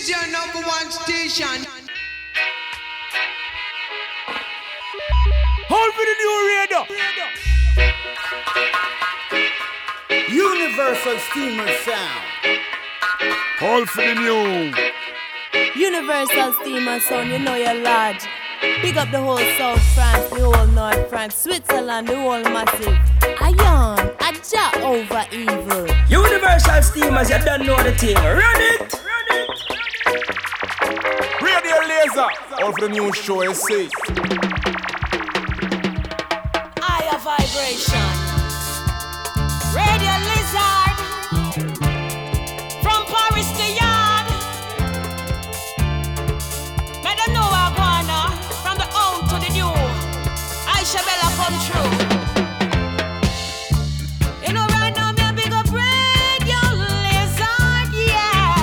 is your number one station. Hold for the new radio. Universal Steamer Sound. Hold for the new. Universal Steamer Sound, you know you're large. Big up the whole South France, the whole North France, Switzerland, the whole massive. Ion, a jack over evil. Universal Steamers, you don't know the thing. Run it! Radio Laser. Hold for the new show, you see. Higher vibration. Radio Lizard. From Paris to Yard. Let them know I'm gonna. From the old to the new. Aisha Bella come true. You know right now me a big up Radio Lizard, yeah.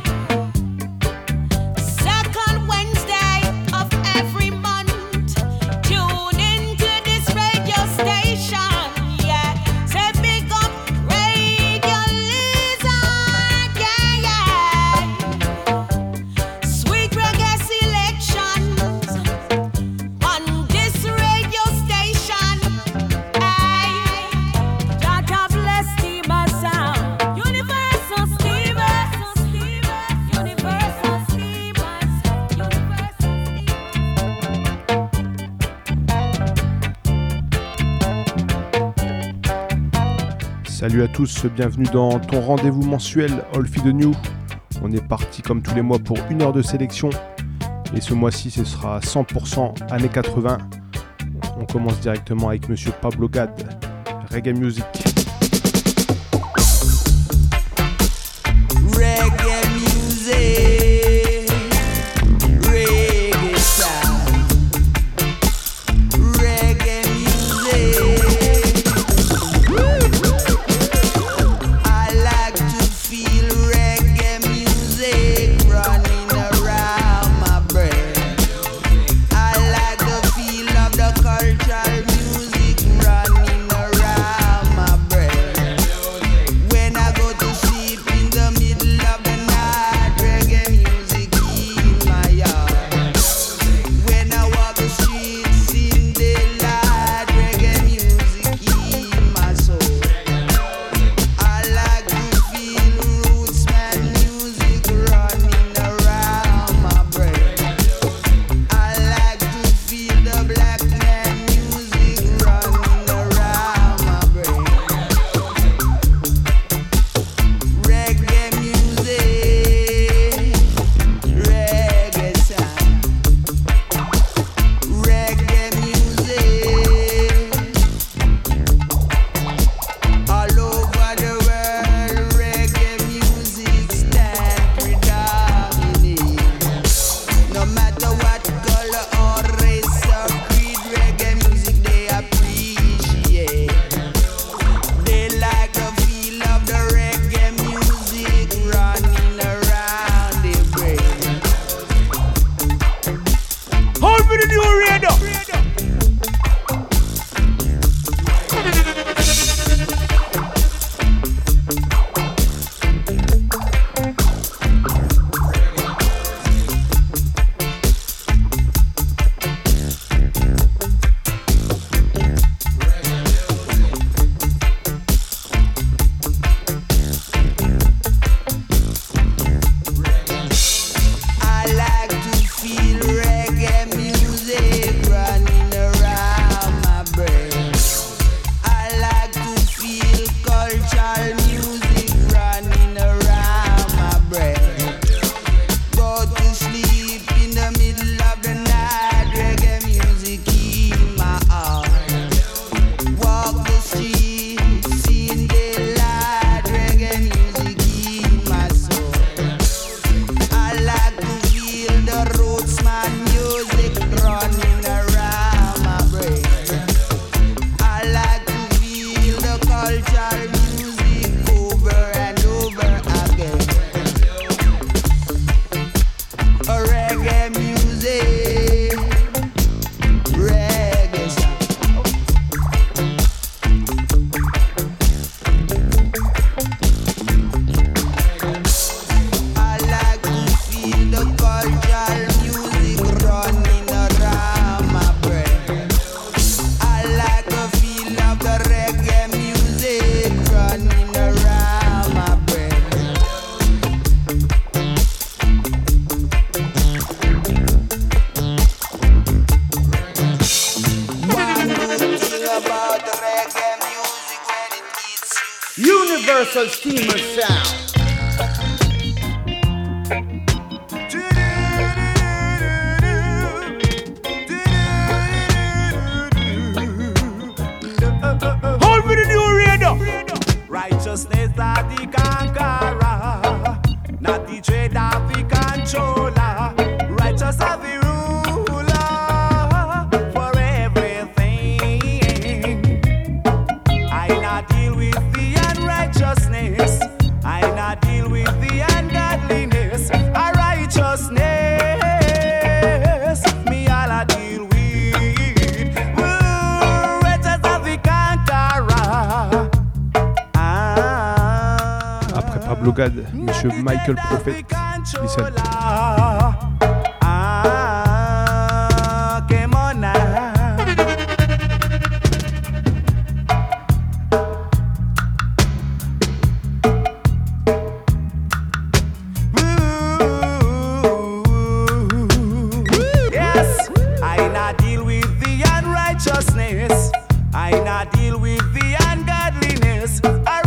Second Wednesday of every month. Tune into this radio station, yeah. Say big up Radio Lizard, yeah, yeah. Sweet reggae selections on this radio station. Hey, Dada bless Steamer Sound. Universal Steamers, Universal Steamers, Universal Salut à tous, bienvenue dans ton rendez-vous mensuel All Feed New. On est parti comme tous les mois pour une heure de sélection. Et ce mois-ci, ce sera 100% années 80. On commence directement avec Monsieur Pablo Gad, Reggae Music. Reggae music, reggae sound, reggae music. I like to feel reggae music running around my brain. I like the feel of the cultural music running around my brain. Universal Steamer Sound. Hold me the new radar. Righteousness are the conqueror, not the trader, the controller. Righteous are the ruler for everything. I not deal with the unrighteousness. I not deal with the ungodliness. A righteousness, me all I deal with. Righteous are the conqueror. Après Pablo Gad, Monsieur Michael Prophet, listen. Come on now. Yes, I not deal with the unrighteousness. I not deal with the ungodliness. A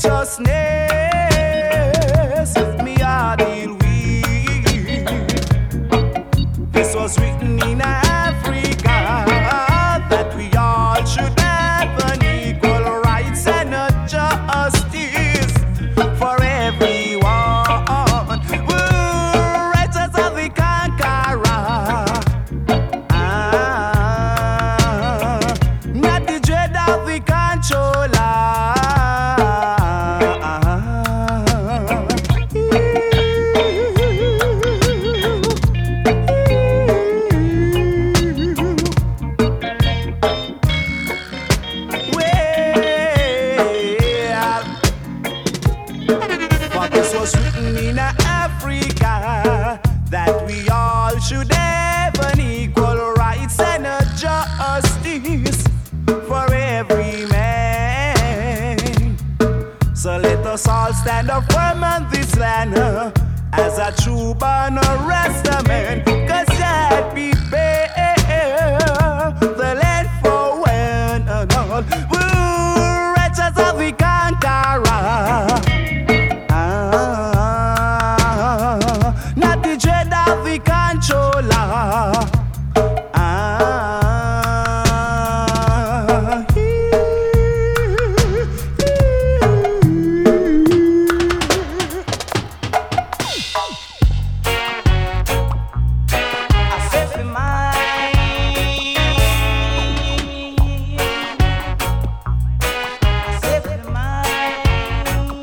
righteousness, me I deal with. This was written in Africa that we all should have an equal rights and a justice for everyone. Righteous are the conqueror, not the dread of the controller. For this was written in Africa that we all should have an equal rights and a justice for every man. So let us all stand up firm on this land as a true born man, 'cause that prepare the land for one and all. Righteous are the conqueror, not the dread of the controller. I said for mine. I said for mine.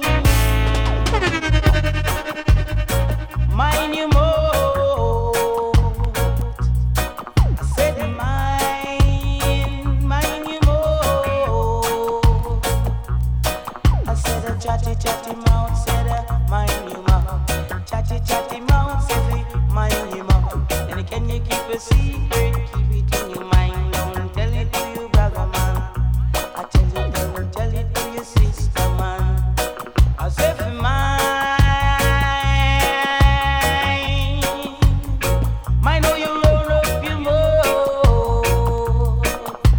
Mine you more. I said mine you more. I said a chatty mouth, said a mine you more. Chatty mouth, said a mine you more. And can you keep a secret? Keep it in your mind. Don't tell it to your brother man. I tell you, don't tell it to your sister man. I said for mine know you roll up your mouth.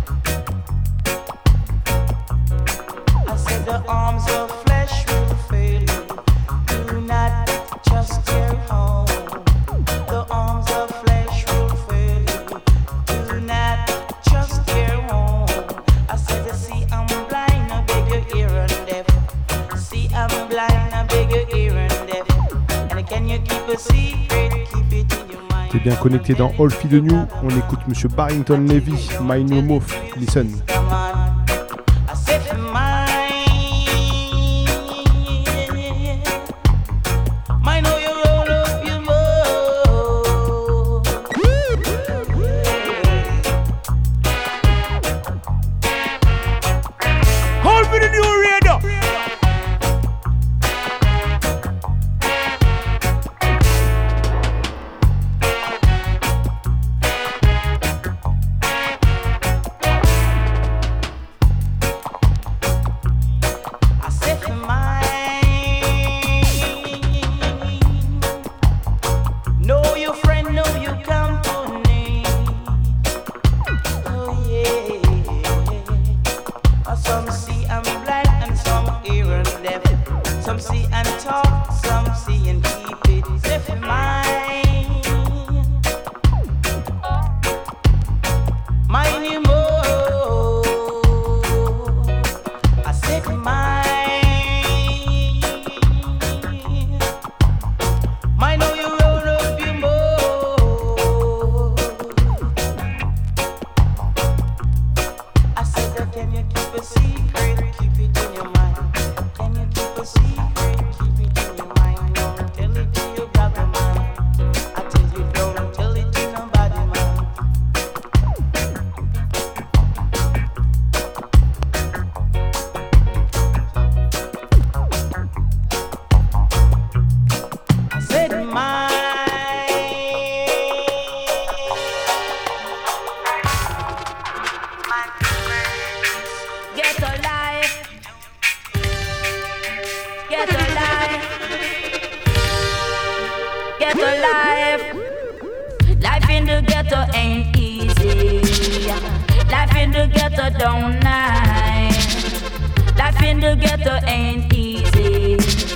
I said the arms of flesh will fail you. Do not trust your home. The arms of flesh will fail you. Do not trust your home. I said, see, I'm blind, I beg your ear and deaf. See, I'm blind, I beg your ear and deaf. And can you keep a secret? Keep it in your mind. T'es bien connecté dans All Feed New. On écoute Monsieur Barrington Levy, My New Mouth. Listen. Come on. I said for mine. Mine know you roll up your mouth. Hold me the new radar. see and keep it safe in mind. Mine you more, I said mine. Mine know you roll up your more. I said that can you keep a secret, keep it in your mind. Can you keep a secret, keep it in your mind. Don't tell it to your brother man. I tell you don't tell it to nobody man. I said mine. Get a life. Get a life. Get a life. Life in the ghetto ain't easy. Life in the ghetto don't nice. Life in the ghetto ain't easy.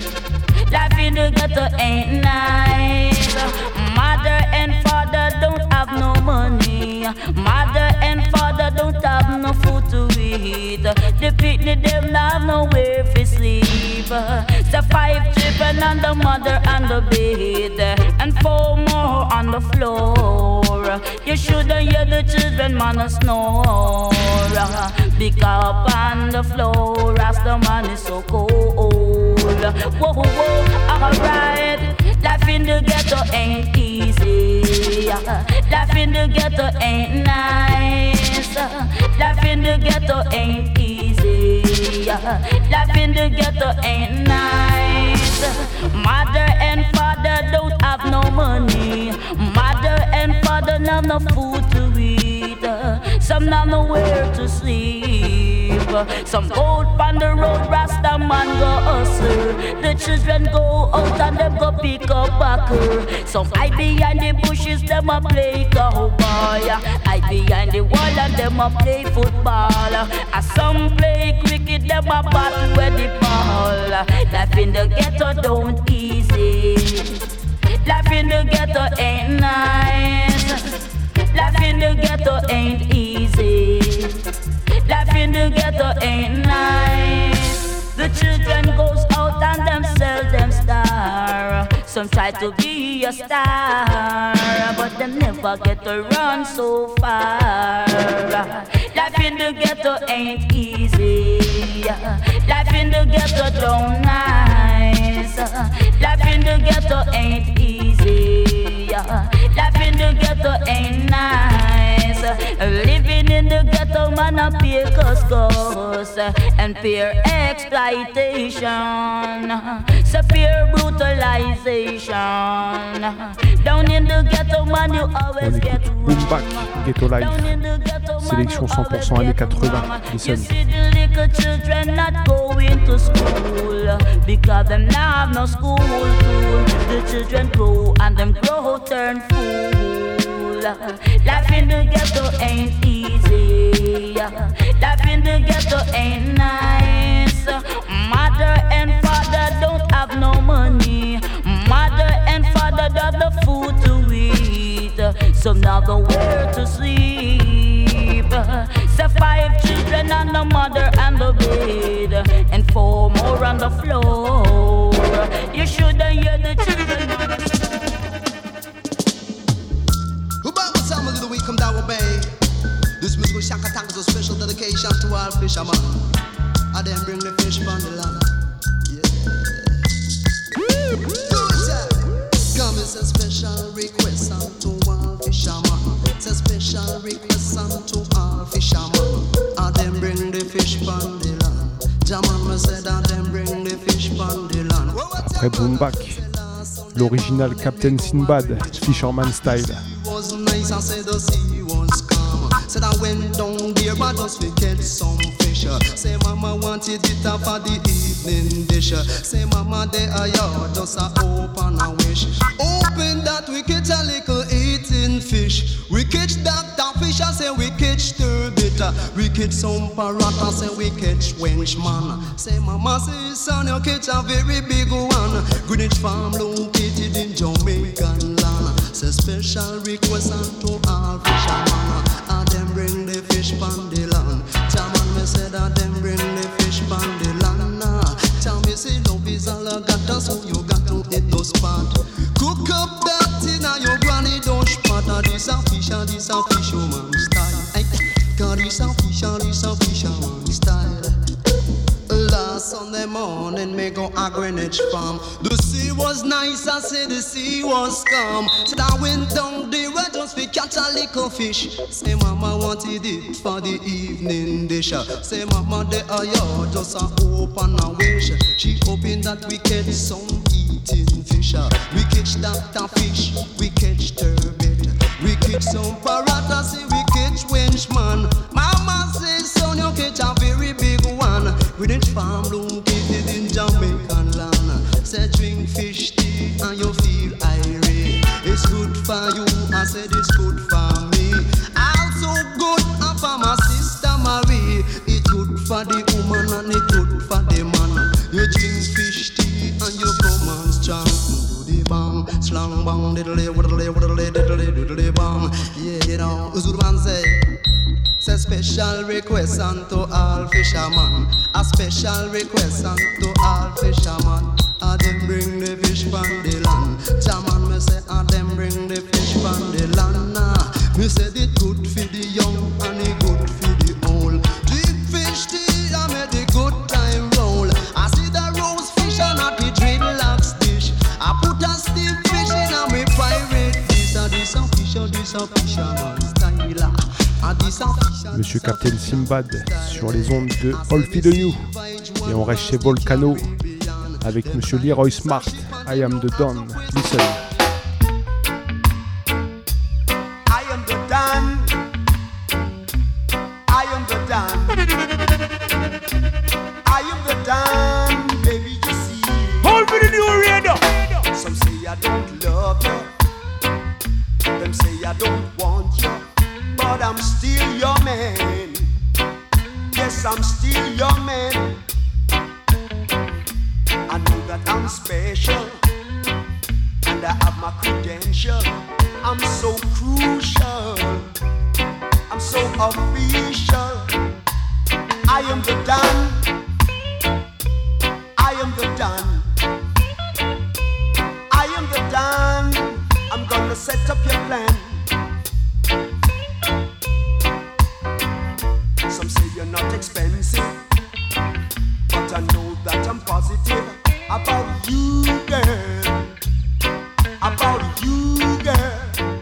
Life in the ghetto ain't nice. Mother and father don't have no money. Mother and father don't have no food to eat. The picnic them not have nowhere to sleep. So 5 children on the mother and the bed, and 4 more on the floor. You shouldn't hear the children man snore. Pick up on the floor as the man is so cold. Whoa, whoa, alright. Life in the ghetto ain't easy. Life in the ghetto ain't nice. Life in the ghetto ain't easy. Life in the ghetto ain't nice. Mother and father don't have no money. Mother and father not no food to eat. Some not nowhere to sleep. Some go on the road, Rasta man go hustle. The children go out and them go pick up backer. Some hide behind the bushes, them a play cowboy. Hide behind the wall and them a play football. As some play cricket, them a battle with the ball. Life in the ghetto don't easy. Life in the ghetto ain't nice. Life in the ghetto ain't easy. Life in the ghetto ain't nice. The children goes out and them sell them star. Some try to be a star, but them never get to run so far. Life in the ghetto ain't easy. Life in the ghetto don't nice. Life in the ghetto ain't easy. Life in the ghetto ain't nice. Living in the ghetto, man, a peer cuscus and peer exploitation, so peer brutalization. Down in the ghetto, man, you always get Boom Back, Ghetto Life, sélection 100% années 80. Listen. Little children not going to school because them now have no school tool. The children grow and them grow turn fool. Life in the ghetto ain't easy. Life in the ghetto ain't nice. Mother and father don't have no money. Mother and father don't have the food to eat. Some now nowhere to sleep. So 5 children on the mother and the bed, and 4 more on the floor. You shouldn't hear the children. Who bought my summer little week come down with Bay? This musical Shaka Tank is a special dedication to all fishermen. I then bring the fish from the land. Yeah. Good sir. Come is a special request to all fishermen. It's a special request to all fishermen. I then bring the fish from the land. Jaman said I then bring the fish from the land. Après Boom Back, l'original Captain Sinbad, Fisherman Style. Was nice and said the sea was calm. Said I went down there but just to catch some fish. Say mama wanted it for the evening dish. Say mama there are you just a open a wish. Open that we catch a little eating fish. We catch that fish, I say we catch turbot. We catch some parrot and say we catch wench man. Say mama say son you catch a very big one. Greenwich Farm located in Jamaican land. Say special request unto all fisherman. And them bring the fish from the land. Chairman me say that them bring the fish from the land. Tell me say love is all I got, so you got to eat those pot. Cook up that thing and your granny don't spot. This a fisherman style. Cause this a fisherman style. Last Sunday morning, me go a Greenwich Farm. The sea was nice, I say the sea was calm. So I went down the road just to catch a little fish. Say mama wanted it for the evening dish. Say mama they are you just a hope and a wish. She hoping that we catch some eating fish. We catch that fish, we catch turbot. We catch some parrot, I say we catch wench man. Mama says son you catch a very big one. Greenwich Farm located in Jamaican land. Say drink fish tea and you feel irate. It's good for you, I said it's good for me. Also good for my sister Marie. It's good for the woman and it's good for the man. You drink fish tea and you come on strong. Do the bang, slang bang, diddly, widdly, widdly, diddly, diddly bang. Yeah, you know, Uzurban say. Say special request unto all fishermen. A special request unto all fishermen. And them bring the fish from the land. Chairman me say and them bring the fish from the land. Me say it good for the young and it good for the old. Drink fish tea and make the good time roll. I see the roast fish and not the dreadlocks dish. I put a steam fish in and me pirate this. This a fisherman style. Monsieur Captain Simbad sur les ondes de All Feed the New. Et on reste chez Volcano avec Monsieur Leroy Smart, I am the Don. Listen. I am the Don. I am the Don. I am the Don, baby, you see. All Feed the New Radio. Some say I don't love you. Them say I don't want you. But I'm still your man. Yes, I'm still your man. I know that I'm special and I have my credential. I'm so crucial. I'm so official. I am the Don. I am the Don. I am the Don. I'm gonna set up your plan. Some say you're not expensive, but I know that I'm positive about you, girl. About you, girl.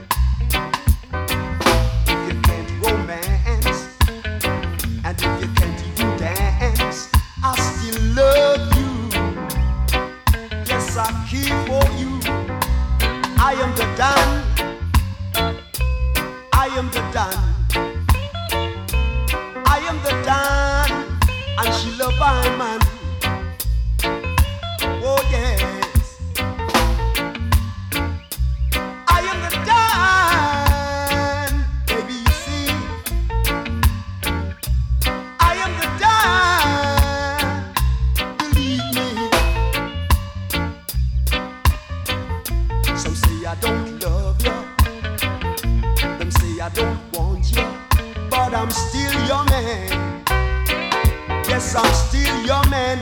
If you can't romance, and if you can't even dance, I still love you. Yes, I care for you. I am the Don. I am the Don. I am the Don, and she love my man. Oh yes, I am the Don, baby. You see, I am the Don. Believe me. Some say I don't love you. Them say I don't want you. But I'm still your man. Yes, I'm still your man.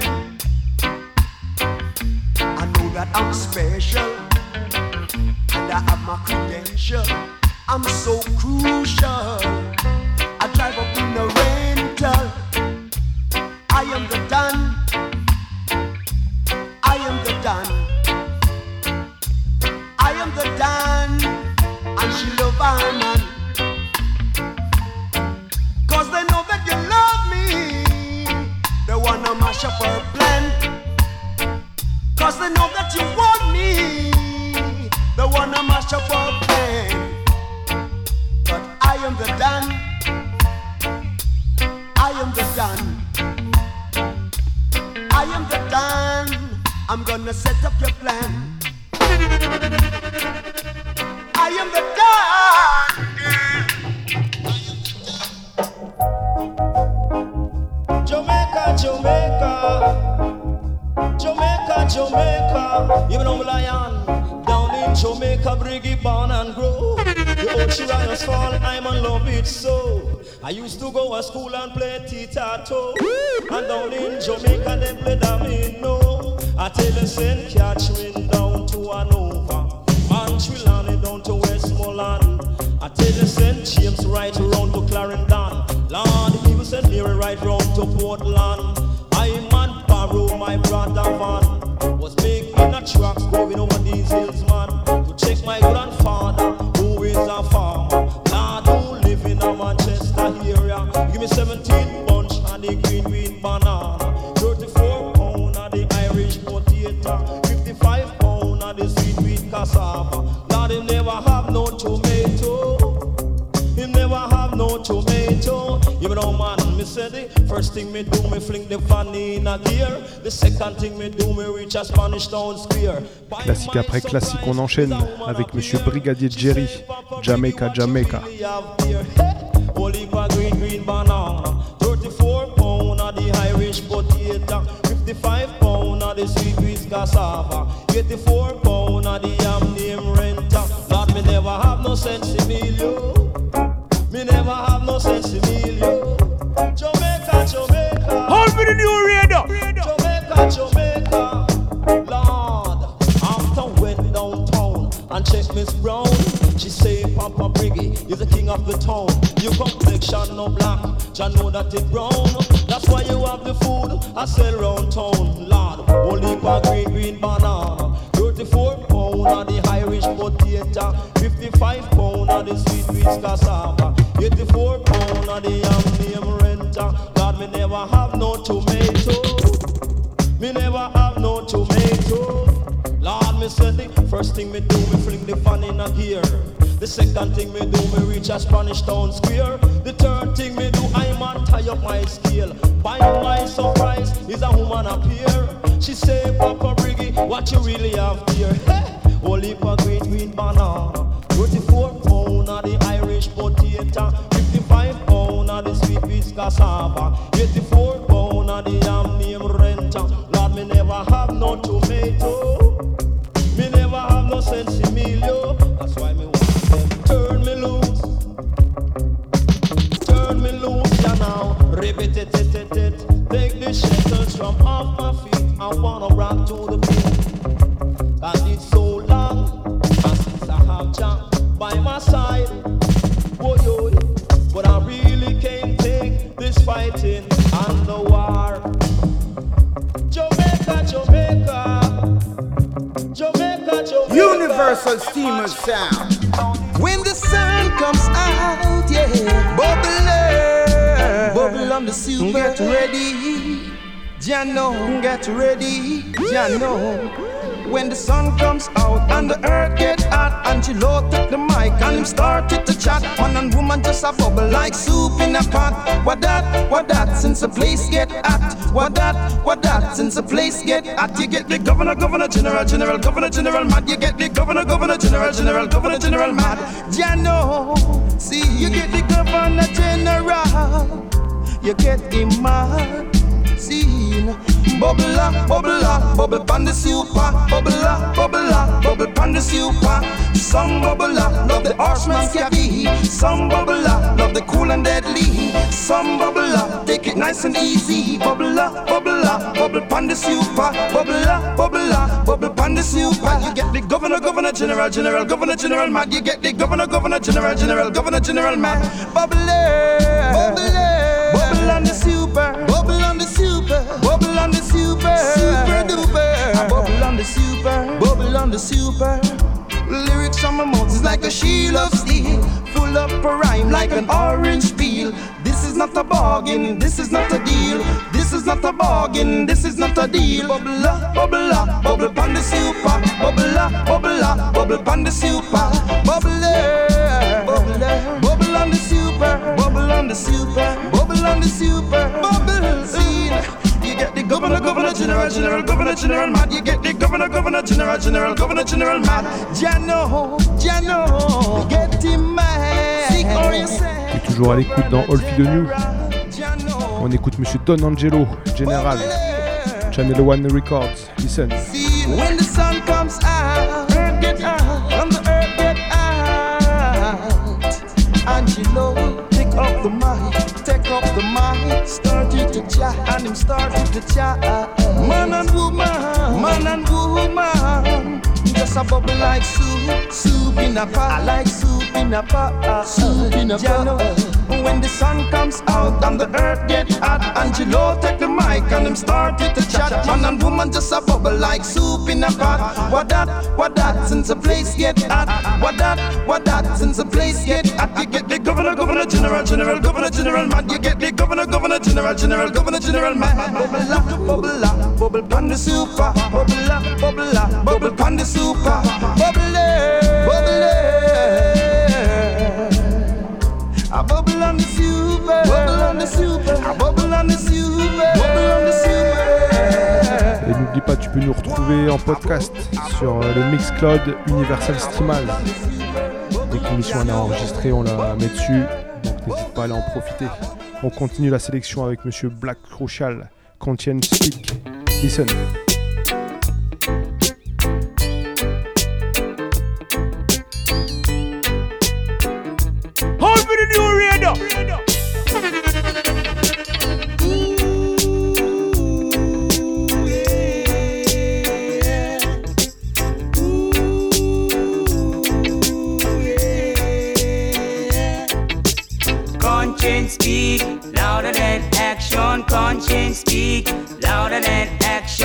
I know that I'm special and I have my credential. I'm so crucial. I drive up in a rental. I am the Don. I am the Don. I am the Don, and she love my man. Cause they know that you love me. They wanna mash up our plan. Cause they know that you want me. They wanna mash up our plan. But I am the Don. I am the Don. I am the Don. I'm gonna set up your plan. I am the Don. Jamaica, Jamaica, even on Lion, down in Jamaica, Briggy born and grow. The ocean riders fall, I'm in love it so. I used to go to school and play tic-tac-toe, and down in Jamaica they play domino. I tell the St. Catherine down to Hanover, Montreal down to Westmoreland. I tell the St. James right around to Clarendon. Lord, he was St. Mary right round to Portland. I'm on Barrow, my brother van was making a truck going over these hills, man, to check my grandfather, who is a farmer. Lord, who live in a Manchester area. Give me 17 bunch and the green banana, 34 pound of the Irish potato, 55 pound of the sweet cassava. Lord, him never have no tomato. Him never have no tomato. You know, man, me say the first thing me do, me fling the fanny in a gear. The second thing me do, me reach a Spanish Town Square. Classique après classique, on enchaîne avec Monsieur Brigadier Jerry, Jamaica, Jamaica. Holy green banana, 34 pound of the Irish potato, 55 pound of the sweet cassava, 84 pound of the yam name renta. Lord, me never have no sense in me, yo. Me never have no sense in me, yo. Jamaica, Jamaica. Hold me the new radar. Jamaica, Jamaica. Lord, after went downtown and check Miss Brown, she say Papa Briggy is the king of the town. Your complexion no black, ya know that it brown. That's why you have the food I sell round town. Lord, only for green banana, 34 pound of the Irish potato, 55 pound of the sweet cassava, 84 pound of the yam name renta. God, me never have no tomato. Me never have no tomato. Lord, me say the first thing me do, me fling the fan in a gear. The second thing me do, me reach a Spanish Town Square. The third thing me do, I man tie up my scale. By my surprise, is a woman appear. She say, Papa Briggy, what you really have here? Only for green banana, 34 pound of the Irish potato, 55 pound of the sweet cassava, 84 pound of the yam name renta. Lord, me never have no tomato. Me never have no sense in me, yo. That's why me want them turn me loose. Turn me loose, yeah now. Ribbit it. Take the shackles from off my feet. I wanna rock to the beat. Cause it's so long, and since I have Jah by my side, oh yo, but I really can't take this fighting and the war. Jamaica, Jamaica, Jamaica, Jamaica. Universal Steamer sound. When the sun comes out, yeah, bubble on the super. Get ready, Jano, get ready, Jano. When the sun comes out and the earth get hot, and she load up the mic and him started to chat. Man and woman just a bubble like soup in a pot. What that, since the place get hot. What that, since the place get hot. You get the governor, general mad. You get the governor, general mad. Jano, see, you get the governor general. You get him mad. Scene. Bubble up, bubble pan the super. Bubble up, bubble pan the super. Some bubble up, love the horseman's cabby. Some bubble up, love the cool and deadly. Some bubble up, take it nice and easy. Bubble up, bubble pan the super. Bubble up, bubble pan the super. You get the governor, general mad. You get the governor, general mad. Bubble on the super. Bubble on the super. Bubble on the super. Super duper. Bubble on the super. Bubble on the super. Lyrics from my mouth is like a shield of steel, full up a rhyme like an orange peel. This is not a bargain, this is not a deal. This is not a bargain, this is not a deal. Bubble up, bubble pan the super. Bubble up, bubble pan the super. Bubble on the super. Bubble on the super. Bubble on the super. Bubble scene. You get the governor, general mad. You get the governor, general mad. Jano, get him mad. Sick or you say. Et toujours à l'écoute dans All Feed the New. On écoute Monsieur Don Angelo, Général. Channel One Records. Listen. See, when the sun comes out, earth get out, and the earth get out. Angelo, take up the mic, started to chat, and him started to chat. Man and woman, just a bubble like soup in a pot. I like soup in a pot, soup in a pot. When the sun comes out and the earth get hot, Angelo take the mic and him started to chat. Man and woman just a bubble like soup in a pot. What that, since the place get hot. What that, since the place get hot. You get the governor, general, man. You get the governor, general, man. Bubble pan the super. Bubble pan the super. Bubble. A bubble on the super, bubble on the super, a bubble on the super, bubble on the super. Et n'oublie pas, tu peux nous retrouver en podcast sur le Mixcloud Universal Streamaz. Dès que l'émission est enregistrée, on la met dessus, donc n'hésite pas à aller en profiter. On continue la sélection avec Monsieur Black Rochal, Conscience Speak. Listen. Hold me the new radio. Conscience speak louder than action. Conscience speak louder than action.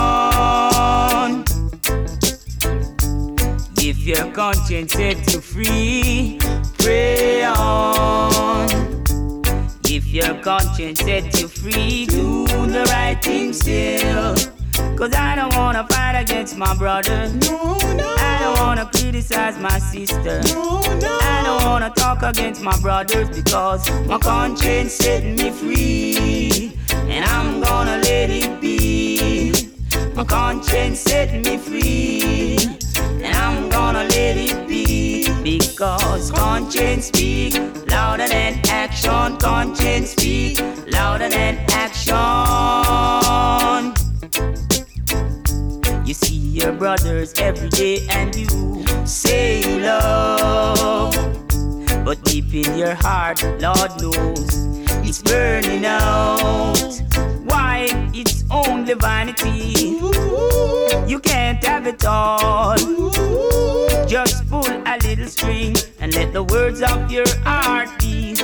If your conscience set you free, pray on. If your conscience set you free, do the right thing still. Cause I don't wanna fight against my brother. I don't wanna criticize my sister. I don't wanna talk against my brothers because my conscience set me free. And I'm gonna let it be. My conscience set me free. And I'm gonna let it be. Because conscience speak louder than action. Conscience speak louder than action. You see your brothers every day and you say love, but deep in your heart, Lord knows it's burning out. Why? It's only vanity. You can't have it all. Just pull a little string and let the words of your heart be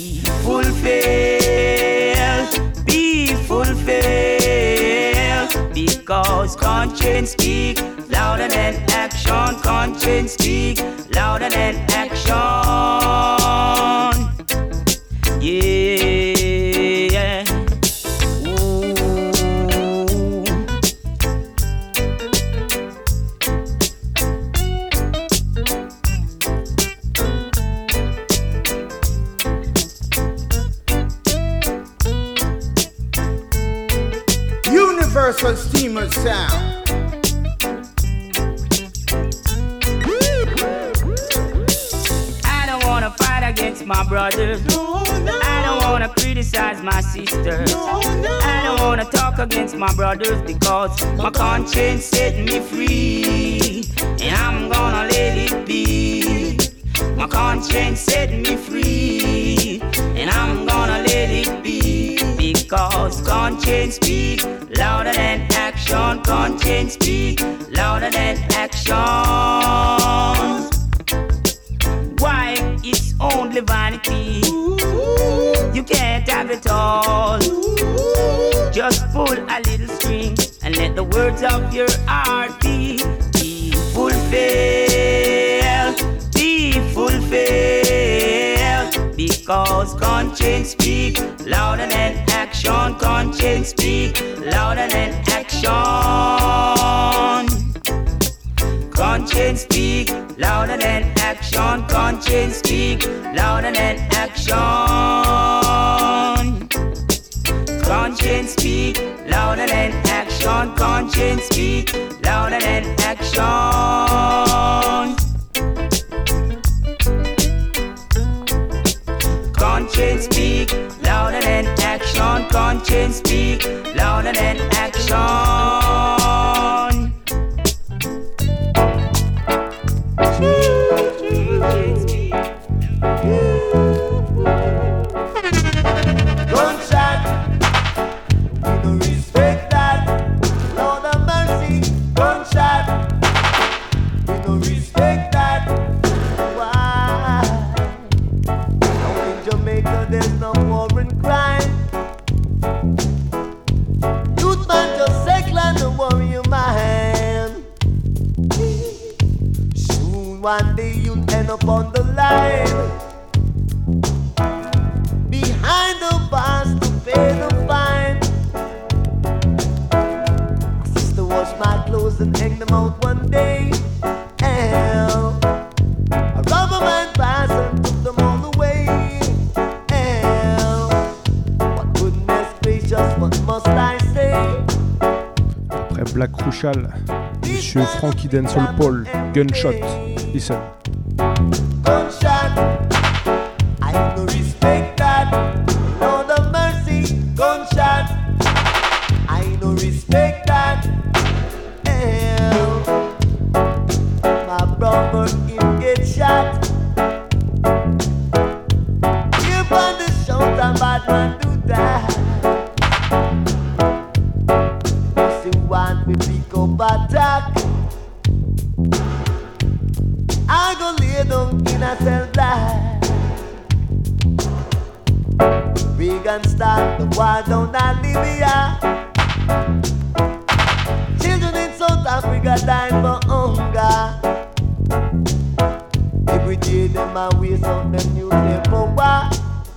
fulfilled. Be fulfilled. Because conscience speak louder than action. Conscience speak louder than action. Yeah. Ooh. Universal Steamer Sound. I don't wanna fight against my brothers. I don't wanna criticize my sister. I don't wanna talk against my brothers because my conscience set me free. And I'm gonna let it be. My conscience set me free. And I'm gonna let it be. Because conscience speak louder than action. Conscience speak louder than action. Why? It's only vanity. You can't have it all. Just pull a little string and let the words of your heart be fulfilled. Be fulfilled. Because conscience speak louder than action. Conscience speak louder than action. Conscience speak louder than action. Conscience speak louder than action. Conscience speak louder than action. Conscience speak louder than action. Conscience speak louder than action. Conscience speak louder than action. Soon one day you'll end up on the line, behind the bars to pay the fine. My sister washed my clothes and hang them out one day. Hell, a rubber man passed and took them all away. Hell, what goodness gracious, what must I say? Après Black Crucial, Monsieur Frankie Denzel Paul, Gunshot. Listen. Gunshot, I no respect that. Lord of mercy, gunshot, I no respect that. Hell, my brother him get shot. Here on the shoulder, bad man do that. You see one we pick up attack. I go lay down in a cell black. Reagan start the war down in Libya. Children in South Africa dying for hunger. Every day them a waste out them nuclear power.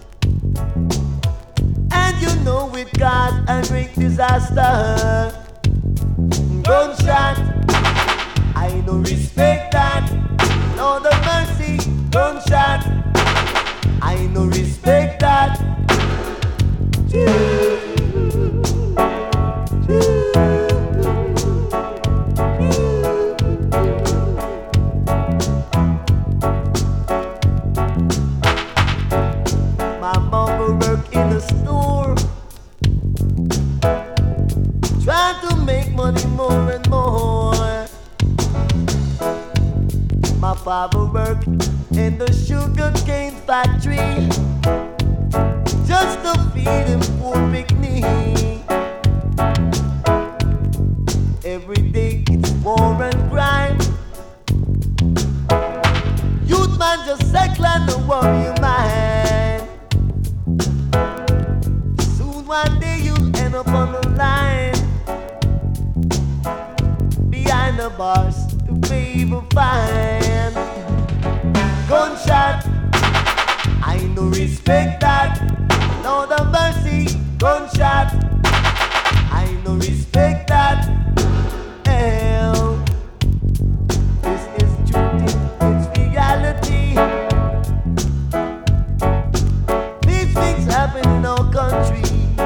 And you know it cause a great disaster. Gunshot, I no respect that. Lord of mercy, gunshot, I no respect that. My mama work in a store, trying to make money more and more. My father worked in the sugar cane factory just to feed him poor picnic. Every day it's war and crime. Youth man just settle and don't worry your mind. Soon one day you'll end up on the line, behind the bars to pay the fine. Gunshot, I no respect that. Lord of mercy, gunshot, I no respect that. Hell, this is truth, it's reality. These things happen in our country.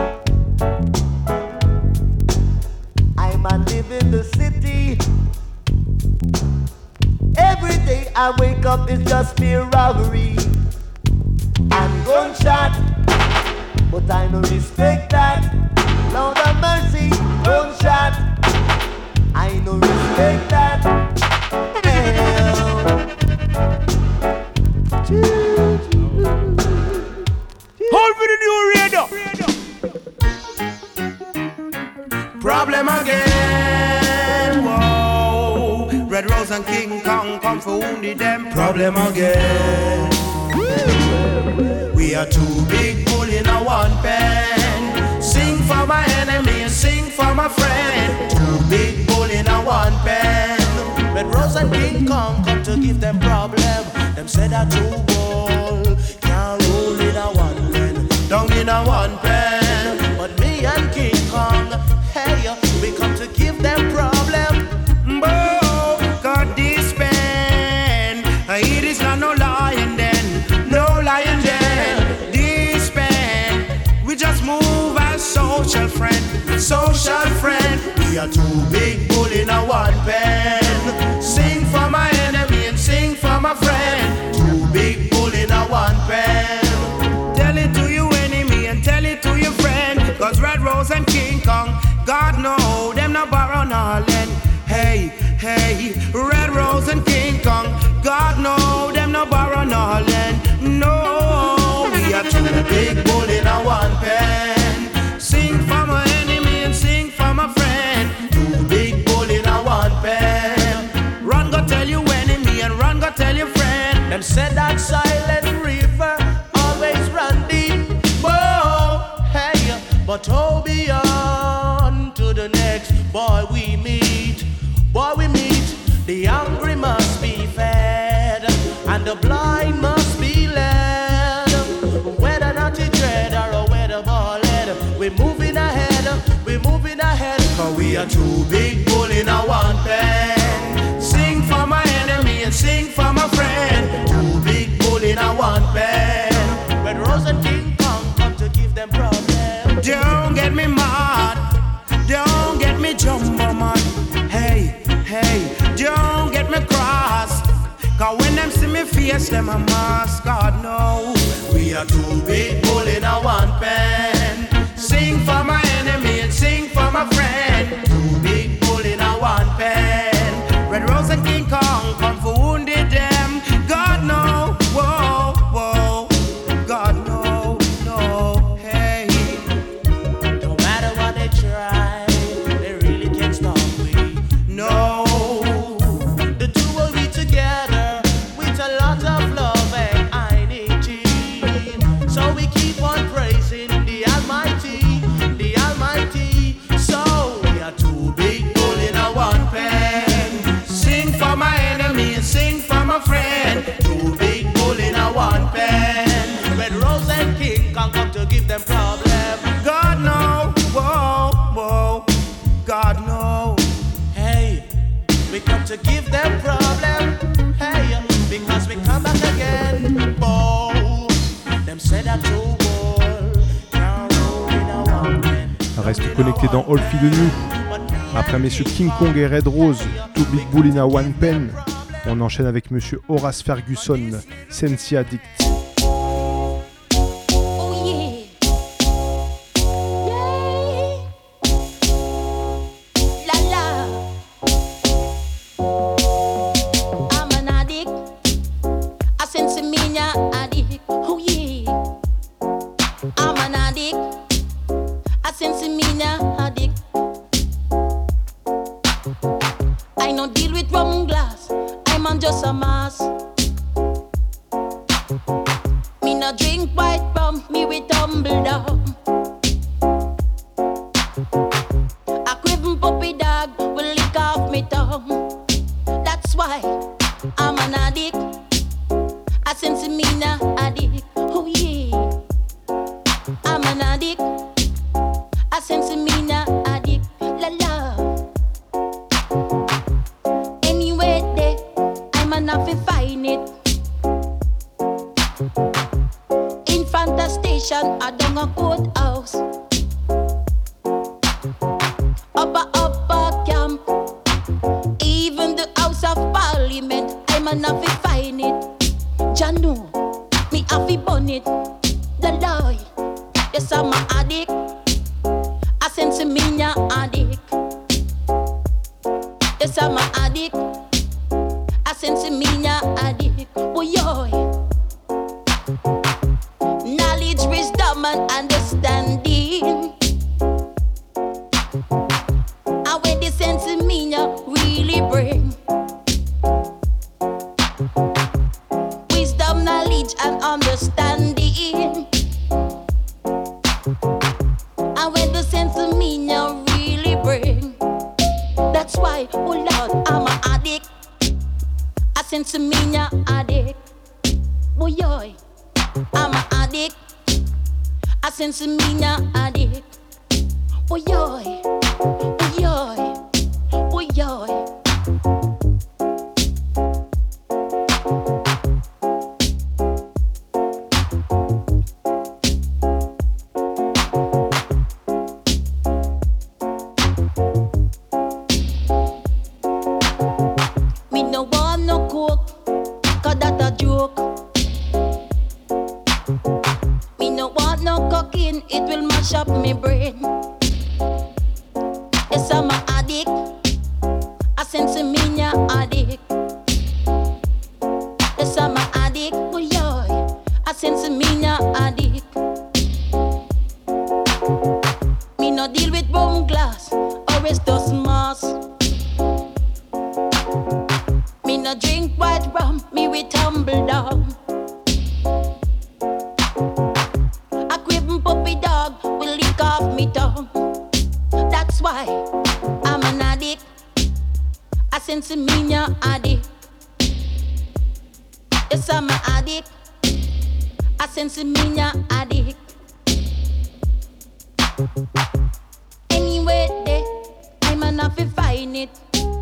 I man live in the city. Every day I wake up, it's just mere robbery and gunshot. But I no respect that. Lord of mercy, gunshot, I no respect that. Hold for the new radio. Problem again, whoa. Red Rose and King Kong come for wounded them. Problem again. We are too big bull in a one pen. Sing for my enemy and sing for my friend. Too big bull in a one pen. Red Rose and King Kong come to give them problem. Them said that two bull can't rule in a one pen. Down in a one pen. But me and King Kong, hey, we come to give them problem. Bo, God this pen. It is not no lion then, no lion then. This pen, we just move as social friend, social friend. We are two big bull in a one pen. Sing for my enemy and sing for my friend. Two big bull in a one pen. Tell it to your enemy and tell it to your friend. Cause Red Rose and King Kong, God know them no borrow no lend. Hey, hey, Red Rose and King Kong, God know them no borrow no lend. No, we are two big bull in a one pen. Sing for my enemy and sing for my friend. Two big bull in a one pen. Run go tell your enemy and run go tell your friend. Them said that silent river always run deep. Whoa, hey, but oh beyond to the next boy we meet. Boy we meet, the hungry must be fed. are two big bull in a one pen. Sing for my enemy and sing for my friend. Two big bull in a one pen. Red Rose and King Kong come to give them problem. Don't get me mad, don't get me jumbo man. Hey, hey, don't get me cross. Cause when them see me face, them a mask. God no, we are two big bull in a one pen. Sing for my enemy and sing for my friend. Two big bull in a one pen. Red Rose and King Kong come for wounded them. God no, whoa, whoa. God no, no, hey. No matter what they try, they really can't stop me. No. The two will be together with a lot of love and unity. So we keep on praising the Almighty, the Almighty. So we are two big bull in a one pen. Sing for my enemy and sing for my friend. Two big bull in a one pen. Red Rose and King Kong come to give them problem. God no, whoa, whoa. God no. Hey, we come to give them problem. Hey, because we come back again. Bow. Them said that two bull can't roll in a one pen. Reste connecté dans All Feed New. Après messieurs King Kong et Red Rose, Two Big Bull in a One Pen, on enchaîne avec monsieur Horace Ferguson, Sensi Addict. Anyway, I'm an man have to find it.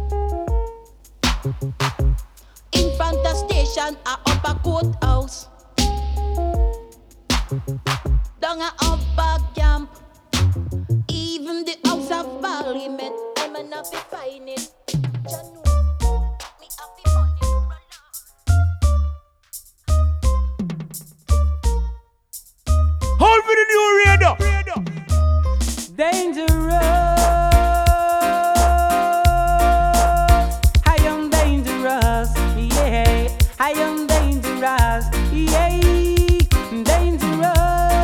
In front of station, a upper courthouse. Down a upper camp. Even the House of Parliament, a man have to find it. Hold me the new radar. Dangerous, I am dangerous, yeah, I am dangerous, yeah, dangerous,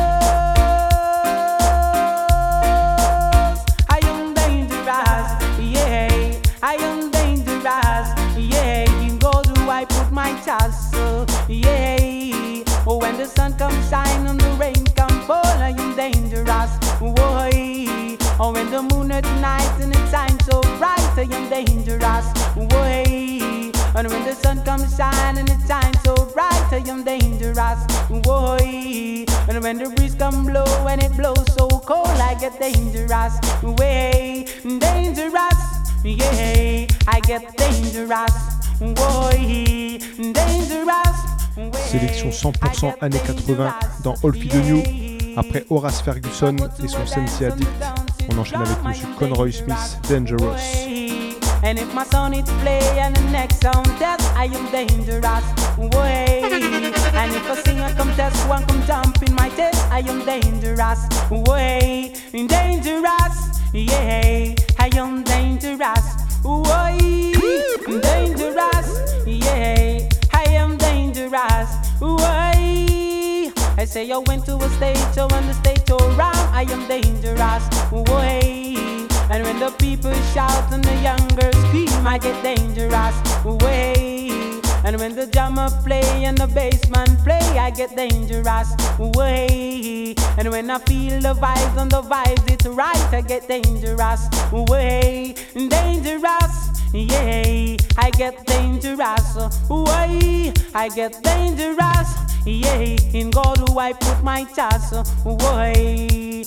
I am dangerous, yeah, I am dangerous, yeah, in God do I put my trust, yeah, oh when the sun comes shine and the rain come fall, I am dangerous, boy. Oh, when the moon at night and it shines so bright, I am dangerous, way. And when the sun comes shine and it shines so bright, I am dangerous, way. And when the breeze come blow and it blows so cold, I get dangerous, way. Dangerous, yeah, I get dangerous, way. Dangerous. Sélection 100% années 80 dans All Feed New. Après Horace Ferguson et son Sensi Addict, on enchaîne avec Monsieur Conroy Smith, Dangerous. And if my son is play and the next sound test, I am dangerous, way. And if a singer come test, one come jump in my test, I am dangerous, way. Dangerous, yeah, I am dangerous, way. Dangerous, yeah, I am dangerous, way. I say I went to a stage show and the stage show round, I am dangerous, way. And when the people shout and the young girls scream, I get dangerous, way. And when the drummer play and the bassman play, I get dangerous, way. And when I feel the vibes and the vibes it's right, I get dangerous, way. Dangerous, yeah, I get dangerous, way. I get dangerous, yeah, in God do I put my trust, way.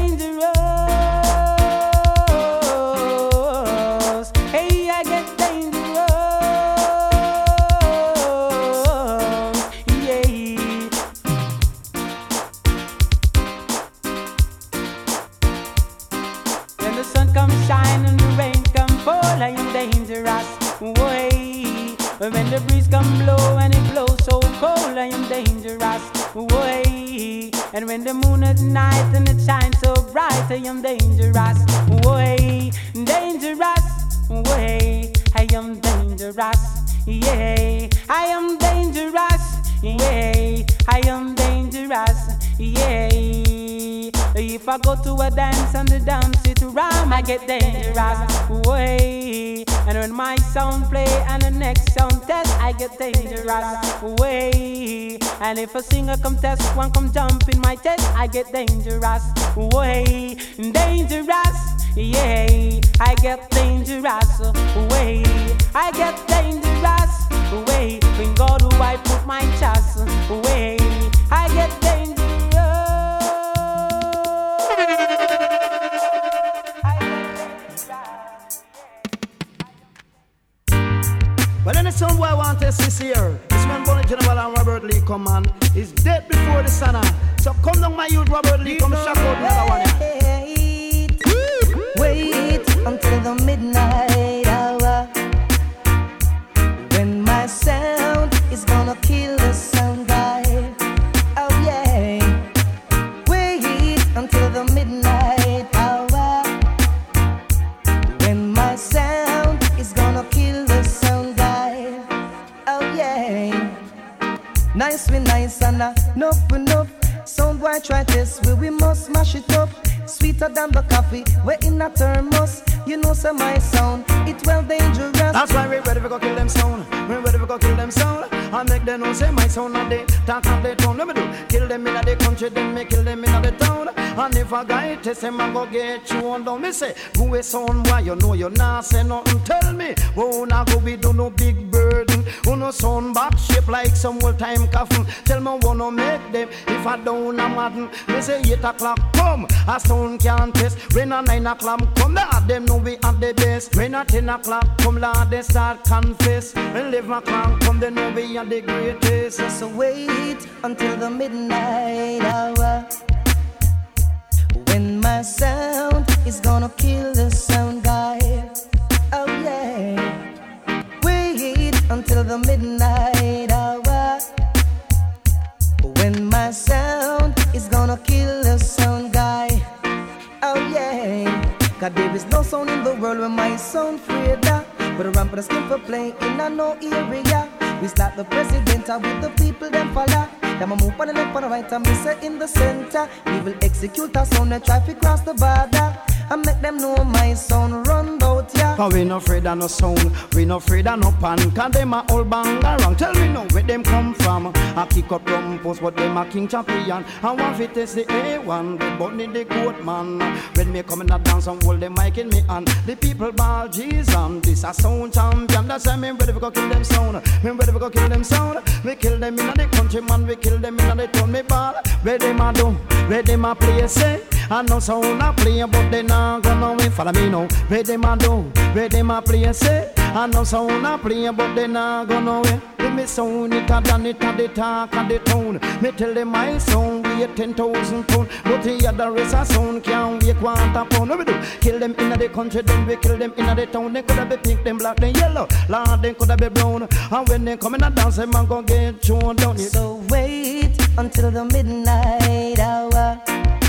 Dangerous, hey, I get dangerous, yeah. When the sun comes shine and the rain come fall, I am dangerous, way. When the breeze come blow and it blows so cold, I am dangerous, way. And when the moon at night and it shines so bright, I am dangerous, way. Dangerous, way. I am dangerous, yeah. I am dangerous, yeah. I am dangerous, yeah. If I go to a dance and the dance it around, I get dangerous, way. And when my sound play and the next sound test, I get dangerous, way. And if a singer come test, one come jump in my test, I get dangerous, way. Dangerous, yeah, I get dangerous, way. I get dangerous, way. When God do I put my trust, way. I get dangerous. Well, then the sound boy I want to see here. This man Bonnie General and Robert Lee come on. He's dead before the sun. So come down my youth, Robert Lee, come shout out the other one. Wait until the midnight hour, when my sound is gonna kill the sound guy. Oh yeah. Wait until the midnight hour, when my sound is gonna kill the sound guy. Oh yeah. Nice we nice and enough. Sound boy try this, we must mash it up. Sweeter than the coffee, we're in a thermos. You know, so my sound, it well dangerous. That's why we're ready to go kill them sound. We're ready to go kill them sound. I make them know say my sound and they talk of the town. Let me do, kill them in the country, then me kill them in the town. And if a guy test him, I go get you on down. Me say, go a sound, why you know you not say nothing. Tell me, oh, now go we do no big burden. Oh, no sound back shape like some old time coffin. Tell me, wanna make with them. If I don't, I'm madden. Me say 8 o'clock come, a sound can't test. When a 9 o'clock come, Lord, them know we at the best. When a 10 o'clock come, Lord, they start confess. When 11 o'clock come, they know we are the greatest. So wait until the midnight hour, when my sound is gonna kill the sound guy. Oh yeah. Wait until the midnight hour, when my sound is gonna kill the sound guy. Oh yeah. Cause there is no sound in the world where my sound afraid of. But a ramp for the skin for play in a no area. We slap the president with the people them follow. Them a move on the left, on the right, and me say in the center. We will execute our sound and try to cross the border. And make them know my sound run out, yeah. Cause we no afraid of no sound, we no afraid of no pan. Cause them a all bang around. Tell me now where them come from. I kick up drum post, but them a king champion. I want to test the A1, the bunny the goat man. When me come in a dance and hold the mic in me hand, the people ball Jesus, this a sound champion. That's why me ready to go kill them sound. Me ready to go kill them sound. We kill them in the country, man. We kill them in the town. Me ball. Where them a do? Where them a play? Say I know sound a play, but they not gonna win. Follow me now. Where them a do? Where them a play? Say I know sound a play, but they not gonna win. Let me sound it a done it a the talk of the town. Me tell them my sound weigh 10,000 pound, but the other rest a sound can't weigh 1/4 pound. What we do? Kill them in the country, then we kill them in the town. They coulda be pink, them black, them yellow. Lord, they coulda be brown. And when they come in a dance, them a go get thrown down. So wait until the midnight hour,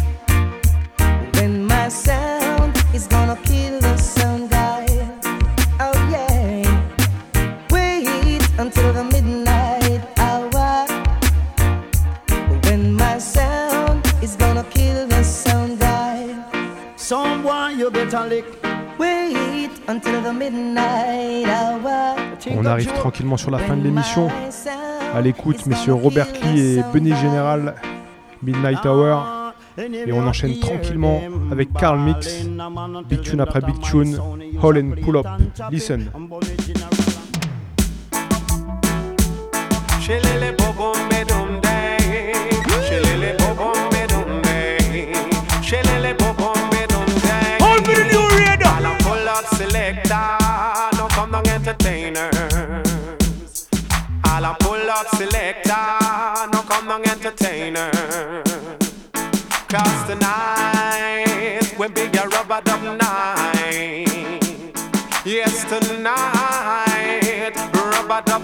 when my sound is gonna kill the sound guy. Oh yeah. Wait until the midnight hour, when my sound is gonna kill the sound guy. Someone you better lick. Wait until the midnight hour. On arrive tranquillement sur la fin de l'émission. À l'écoute, messieurs Robert Lee et Benny General, Midnight Hour. Et on enchaîne tranquillement avec Carl Mix, Big Tune après Big Tune, Hall and Pull Up. Listen. Hold me the new radar. I'll pull up selector, no come down entertainers. I'll pull up selector, no come down entertainers. Cause tonight, we're bigger rubber dub night. Yes, tonight, rubber dub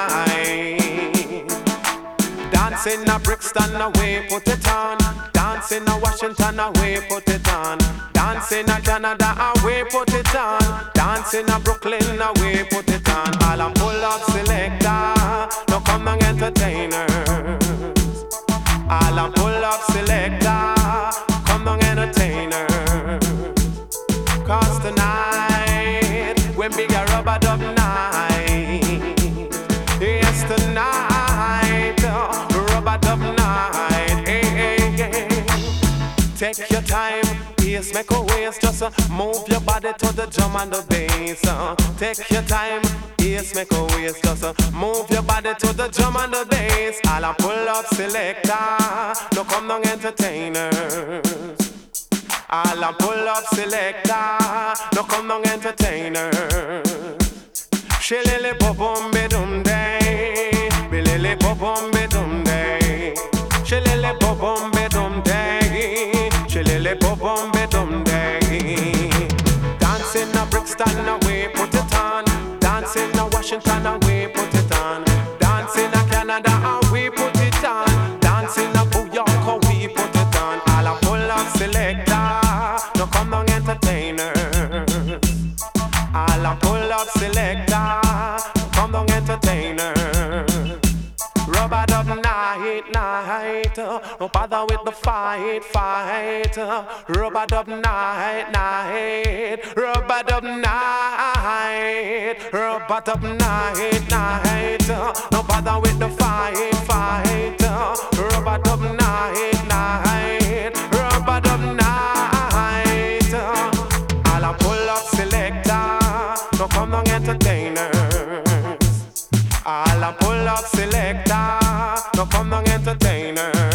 night. Dancing a Brixton away, put it on. Dancing a Washington away, put it on. Dancing a Canada away, put it on. Dancing a Brooklyn away, put it on. All a pull up selector, no come down entertainers. All a pull up selector, come down entertainers. Cause tonight, when bigger rubber dub night. Yes, tonight, rubber dub night. Hey, hey, hey. Take your time, yes, make a waste. Just move your body to the drum and the bass. Take your time, yes, make a waste. Just move your body to the drum and the bass. All a pull up selector, no come down entertainers. All a pull up selector, no come down entertainers. Shillily bum be dum day, billy bum be dum day. Shillily bum be dum day, shillily bum be dum day. Dancing a Brixton away, put it on. Dancing a Washington away, put it on. Dancing a Canada away, put it on. Dancing a New York away, put it on. All a pull up selector, no come down entertainers. All a pull up selector, come down entertainers. Rubber dub night, night, no bother with the fight, fight. Rubber dub night, night, rubber dub night, rubber dub night, night, no bother with the fight, fight. Rubber dub night, night, rubber dub night. All a pull up selector, no come down entertainers. All a pull up selector, no come down entertainers.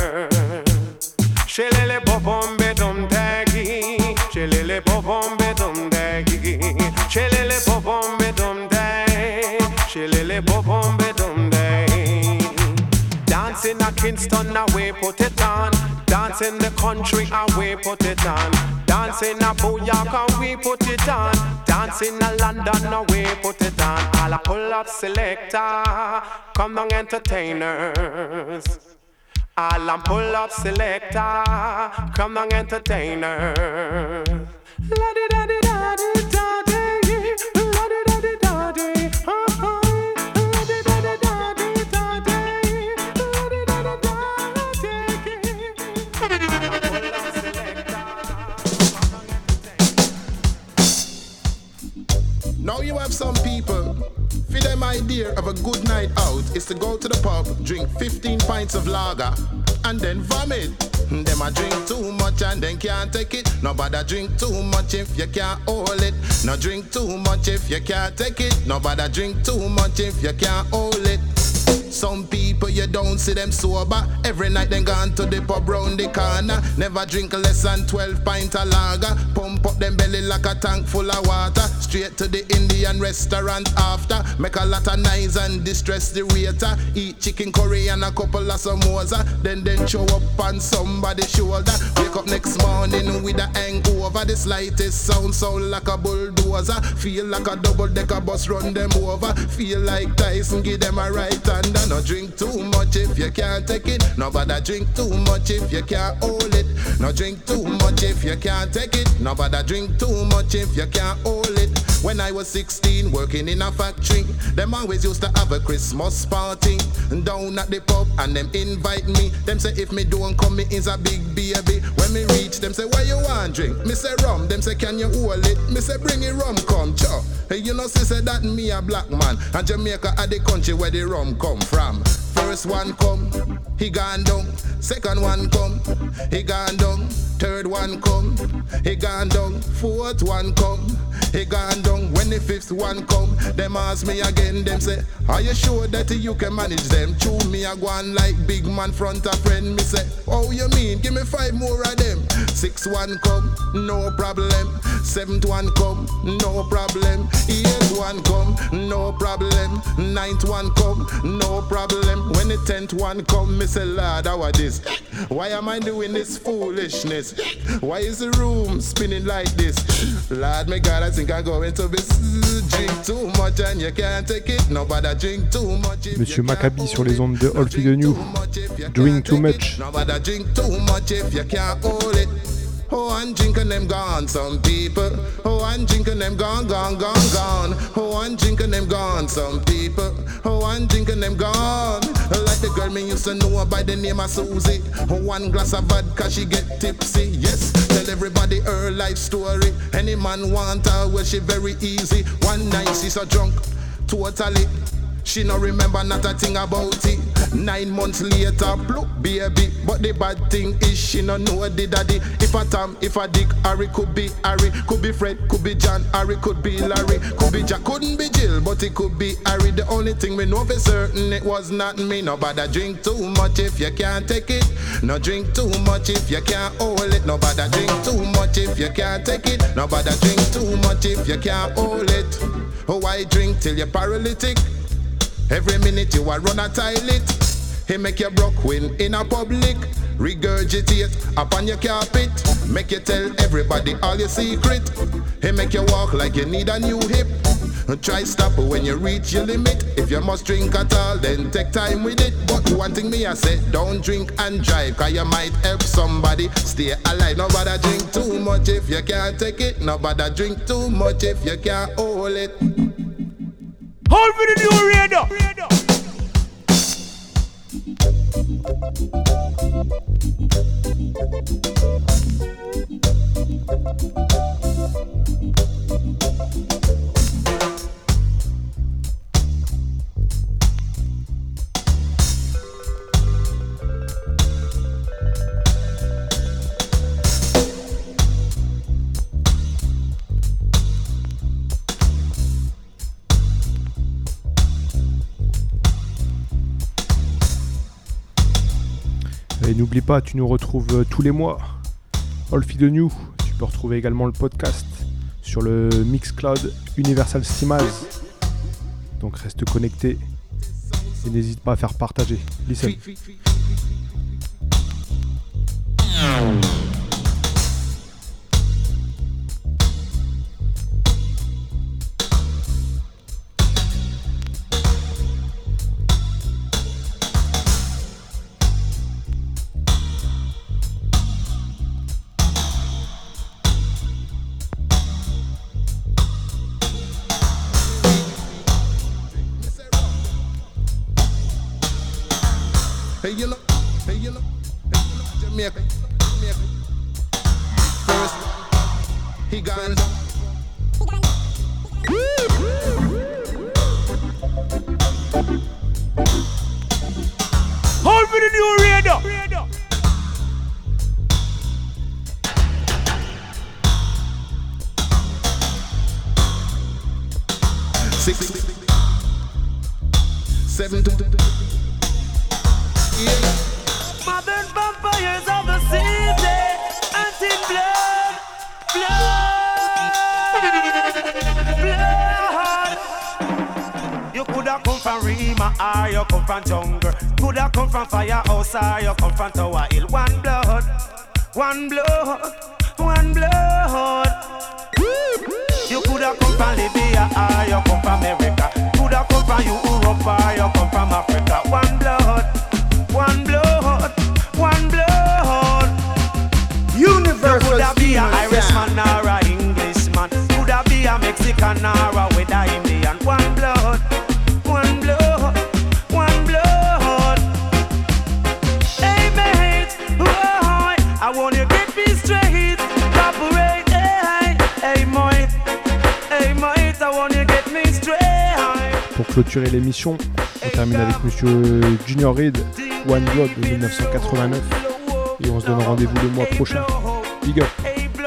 Kingston, now we put it on. Dance in the country, and we put it on. Dance in a Booyah, and we put it on. Dance in a London, now we put it on. All a pull up selector, come on entertainers. All a pull up selector, come on entertainers. La di da di da di da di, la di da di da di, la di da di da di da di, la di da di da di. Now you have some people, for them idea of a good night out is to go to the pub, drink 15 pints of lager, and then vomit. Them a drink too much and then can't take it. Nobody drink too much if you can't hold it. No drink too much if you can't take it. Nobody drink too much if you can't hold it. Some people you don't see them sober. Every night they gone to the pub round the corner. Never drink less than 12 pints of lager. Pump up them belly like a tank full of water. Straight to the Indian restaurant after. Make a lot of noise and distress the waiter. Eat chicken curry and a couple of samosa. Then show up on somebody's shoulder. Wake up next morning with a hangover. The slightest sound like a bulldozer. Feel like a double-decker bus run them over. Feel like Tyson give them a right hand. No drink too much if you can't take it. Nobody drink too much if you can't hold it. No drink too much if you can't take it. Nobody drink too much if you can't hold it. When I was 16 working in a factory, them always used to have a Christmas party down at the pub and them invite me. Them say if me don't come me is a big baby. When me reach them say why you want drink? Me say rum. Them say can you hold it? Me say bring it rum come chow. Hey, you know say that me a black man and Jamaica are the country where the rum come from. First one come, he gone down. Second one come, he gone down. Third one come, he gone down. Fourth one come, he gone down. When the fifth one come, them ask me again. Them say, are you sure that you can manage them? Chew me a go on like big man front a friend. Me say, oh you mean? Give me 5 more of them. Sixth one come, no problem. Seventh one come, no problem. Eighth one come, no problem. Ninth one come, no problem. When the 10th one come, me say, Lord, how are this? Why am I doing this foolishness? Why is the room spinning like this? Lord, my God, I think I'm going to be drink too much and you can't take it. Nobody drink too much. Monsieur Maccabi sur les ondes de All Feed the New. Drink too much. Nobody drink too much if you can't hold it. Oh, I'm drinking them gone, some people. Oh, I'm drinking them gone. Oh, I'm drinking them gone, some people. Oh, I'm drinking them gone. Like the girl me used to know by the name of Susie. Oh, 1 glass of vodka, she get tipsy. Yes, tell everybody her life story. Any man want her, well, she very easy. One night she so drunk, totally. She no remember not a thing about it. 9 months later, bloop baby. But the bad thing is she no know the daddy. If a Tom, if a Dick, Harry could be Harry. Could be Fred, could be John, Harry could be Larry. Could be Jack, couldn't be Jill, but it could be Harry. The only thing we know for certain it was not me. Nobody drink too much if you can't take it. No drink too much if you can't hold it. Nobody drink too much if you can't take it. Nobody drink too much if you can't hold it. Oh, I drink till you're paralytic. Every minute you a run a toilet. He make you broke when in a public. Regurgitate upon your carpet. Make you tell everybody all your secret. He make you walk like you need a new hip. Try stop when you reach your limit. If you must drink at all, then take time with it. But one thing me I say, don't drink and drive, cause you might help somebody stay alive. Nobody drink too much if you can't take it. Nobody drink too much if you can't hold it. Hold for the new radar. Et n'oublie pas, tu nous retrouves tous les mois. All Feed the New. Tu peux retrouver également le podcast sur le Mixcloud Universal Stimaz. Donc reste connecté et n'hésite pas à faire partager. Listen. Hey, you look, Jamaica. First, he gone. Hold for the new radar. Six, 7, 2. Modern vampires of the city, anti-blood, blood. You coulda come from Rima or you come from jungle. Coulda come from Firehouse or you come from Tower Hill. One blood, one blood, one blood. You coulda come from Libya or you come from America. Coulda come from Europe or you come from Africa. One blood, one blood, one blood. Universal. Coulda be a Irishman or a Englishman. Coulda be a Mexican or a with a Indian. One blood, one blood, one blood. Hey mate, whoa, I want you get me straight. Cooperate, hey mate, I want you get me straight. Pour clôturer l'émission, on termine avec Monsieur Junior Reid, One Blood de 1989, et on se donne rendez-vous le mois prochain. Big up.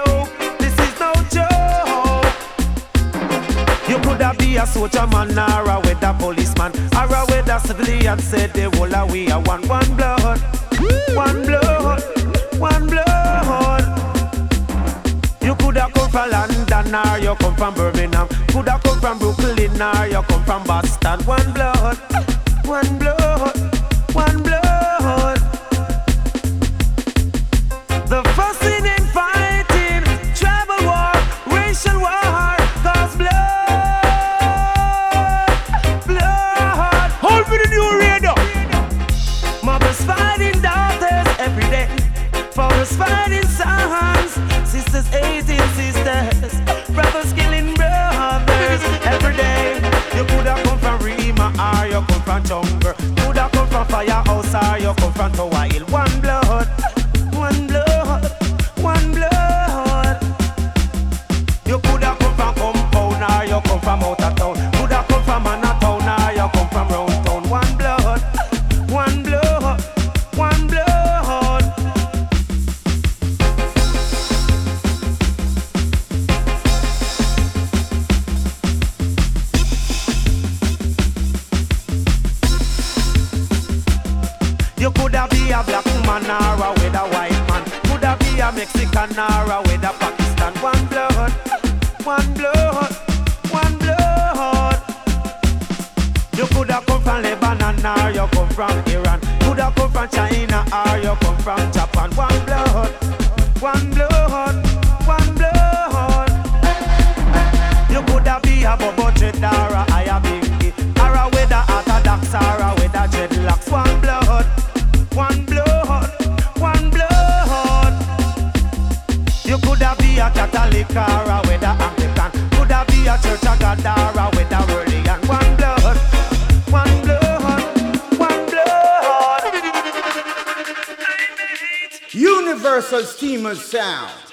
You coulda be a soldier man or a weather policeman or a weather civilian. Said the whole of we are one blood, one blood, one blood. You coulda come from London or you come from Birmingham. Coulda come from Brooklyn or you come from Boston. One blood, one blood, one blood. The fussing and fighting, tribal war, racial war, cause blood. Hold for the new radar. Mothers fighting daughters every day. Fathers fighting sons. Sisters hating sisters. Brothers killing brothers every day. You coulda come from Rima or you come from jungle. Coulda come from Firehouse or you come from Tower Hill. One blood, one blood, one blood. You coulda come from Compound or you come from out of town. Coulda come from Manhattan or you come from round town. One blood, one blood, one blood. You coulda be a black man or a with a white man. Coulda be a Mexican or a with a Pakistan. One blood, one blood, one blood. You coulda come from Lebanon or you come from Iran. Coulda come from China or you come from Japan. One blood, one blood, one blood. You coulda be a Bobo Dread or a Aya Binky or a with a Orthodox or a with a dreadlocks. One blood, one blood, one blood. You coulda be a Catholic or a with a Anglican. Coulda be a Church of God or a with a religion. One blood, one blood, one blood. Universal Steamer Sound.